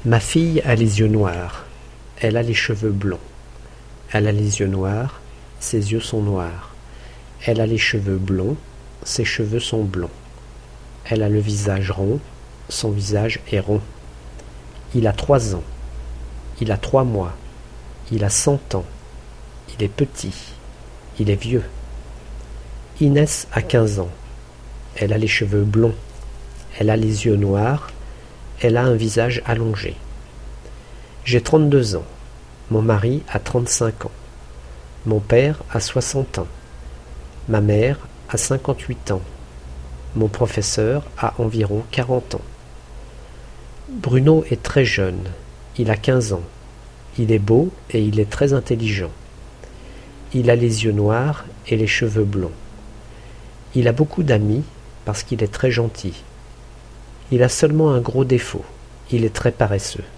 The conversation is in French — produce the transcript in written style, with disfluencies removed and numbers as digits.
Ma fille a les yeux noirs, elle a les cheveux blonds. Elle a les yeux noirs, ses yeux sont noirs. Elle a les cheveux blonds, ses cheveux sont blonds. Elle a le visage rond, son visage est rond. Il a 3 ans, il a 3 mois, il a 100 ans, il est petit, il est vieux. Inès a 15 ans, elle a les cheveux blonds, elle a les yeux noirs, elle a un visage allongé. J'ai 32 ans, mon mari a 35 ans, mon père a 60 ans, ma mère a 58 ans, mon professeur a environ 40 ans. Bruno est très jeune, il a 15 ans, il est beau et il est très intelligent. Il a les yeux noirs et les cheveux blonds. Il a beaucoup d'amis parce qu'il est très gentil. Il a seulement un gros défaut, il est très paresseux.